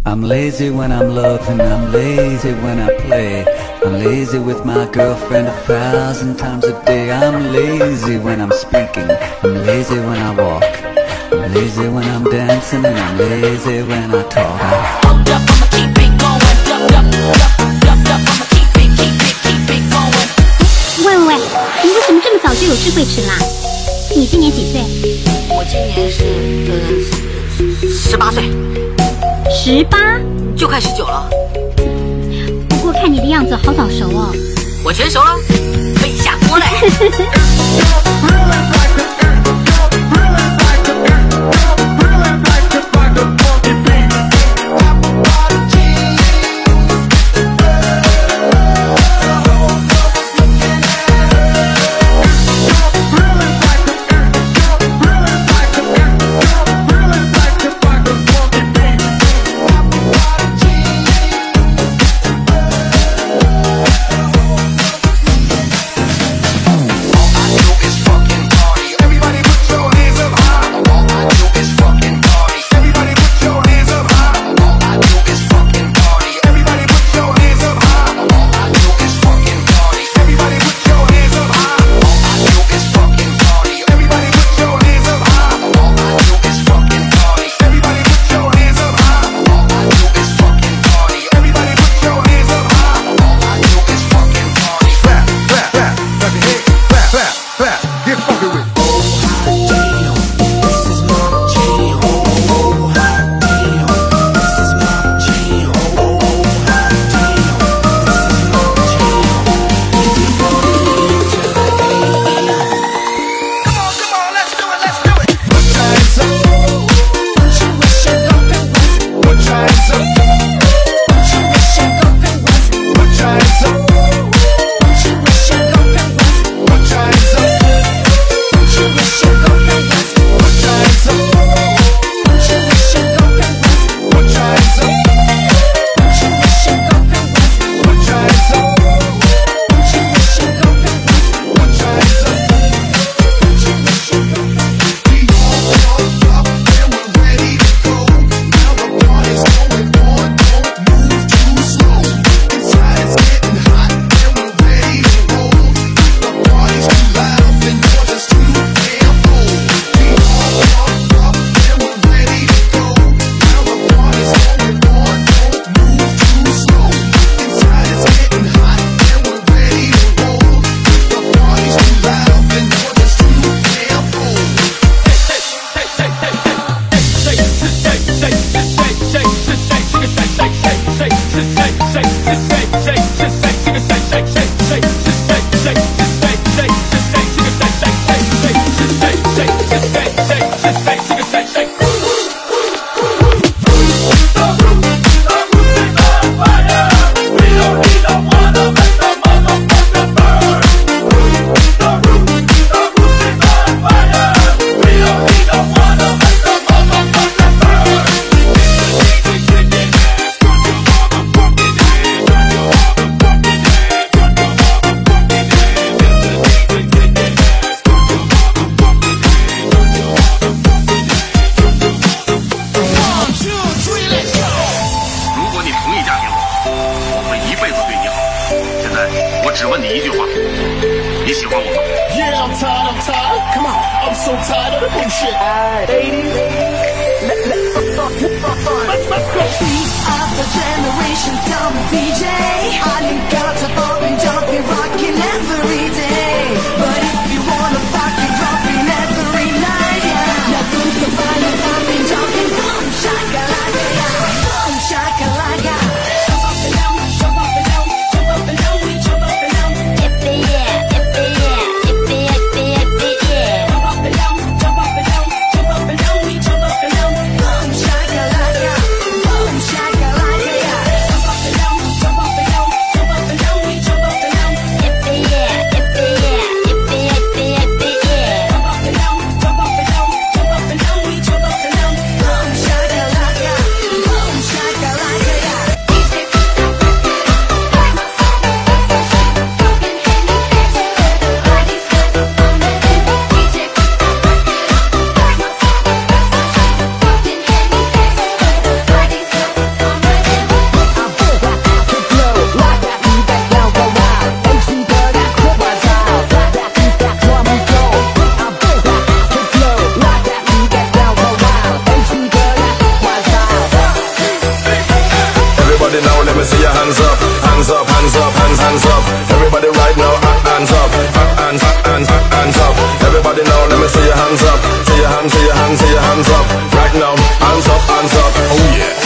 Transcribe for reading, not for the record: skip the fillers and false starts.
I'm lazy when I'm loving, I'm lazy when I play. I'm lazy with my girlfriend 1,000 times a day. I'm lazy when I'm speaking, I'm lazy when I walk. I'm lazy when I'm dancing and I'm lazy when I talk. Hold up, I'ma keep it going. I'ma keep it going. 喂喂喂，你为什么这么早就有智慧齿啦？你今年几岁我今年是18岁， ？18？ 就快19了。 不过看你的样子好早熟哦。 我全熟了，可以下锅嘞。 只问你一句话，你喜欢我吗 Yeah, I'm tired. Come on, I'm so tired of the bullshit. Ladies, let's go. Beat of the generation, dumb DJ. All you got to bop and jump and rockin' every day. But if you wanna rock and dropping every night, yeah. Now do the fire, pop and jump and boom shakalaka, yeah. Boom shakalaka. Jump up and down, jump up and down, jump up and down, we jump up and down. Yippee yeah, yippee yeah, yippee yippee yippee yeah. Jump up and down, jump up and down, jump up and down, we jump up and down. Boom shakalaka, boom shakalaka, yeah. Jump up and down, jump up and down. Everybody now, let me see your hands up. Hands up, hands up, hands up. Everybody right now, hands up. Hands up. Everybody now, let me see your hands up. See your hands, see your hands, see your hands up. Right now, hands up, hands up. Oh yeah.